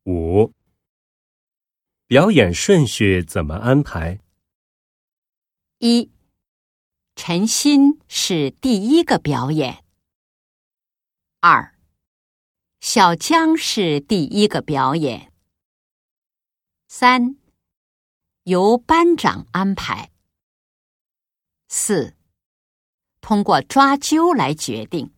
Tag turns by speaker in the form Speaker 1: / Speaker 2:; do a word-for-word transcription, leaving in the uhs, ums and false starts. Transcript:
Speaker 1: 五、表演顺序怎么安排？
Speaker 2: 一、陈鑫是第一个表演。二、小江是第一个表演。三、由班长安排。四、通过抓阄来决定。